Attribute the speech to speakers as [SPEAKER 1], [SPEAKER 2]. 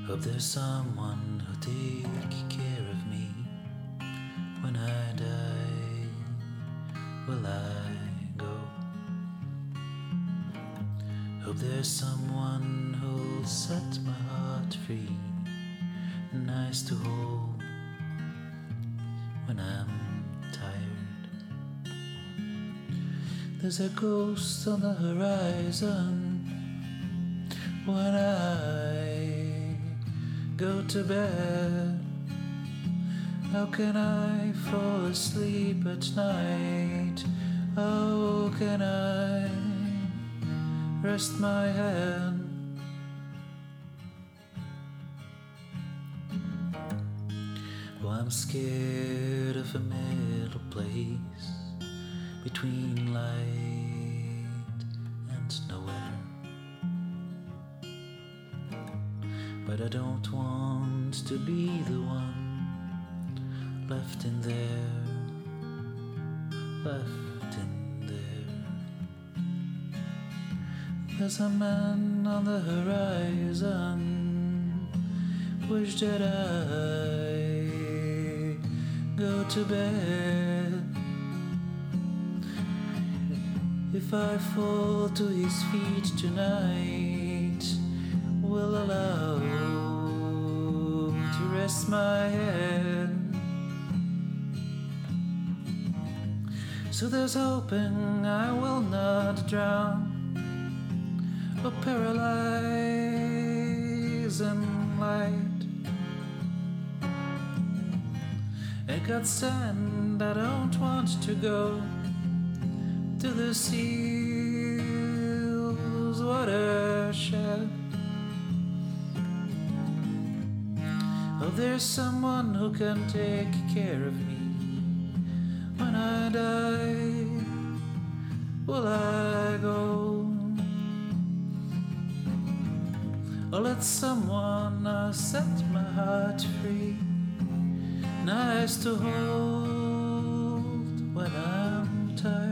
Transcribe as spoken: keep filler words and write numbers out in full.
[SPEAKER 1] Hope there's someone who'll take care of me when I die. Will I go? Hope there's someone who'll set my heart free, nice to hold when I'm tired. There's a ghost on the horizon when I go to bed. How can I fall asleep at night? How can I rest my head? Oh, I'm scared of a middle place between light and nowhere. But I don't want to be the one left in there, left in there. There's a man on the horizon, wish that I go to bed. If I fall to his feet tonight, will allow to rest my head. So there's hoping I will not drown or paralyze in light. I got sand, I don't want to go to the seal's watershed. Oh, there's someone who can take care of me when I die. Will I go? Or let someone uh, set my heart free, nice to hold when I'm tired.